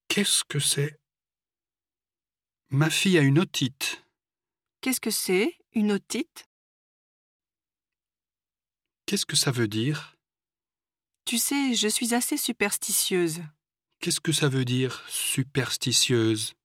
Qu'est-ce que c'est? Ma fille a une otite. Qu'est-ce que c'est, une otite? Qu'est-ce que ça veut dire? Tu sais, je suis assez superstitieuse. Qu'est-ce que ça veut dire, superstitieuse?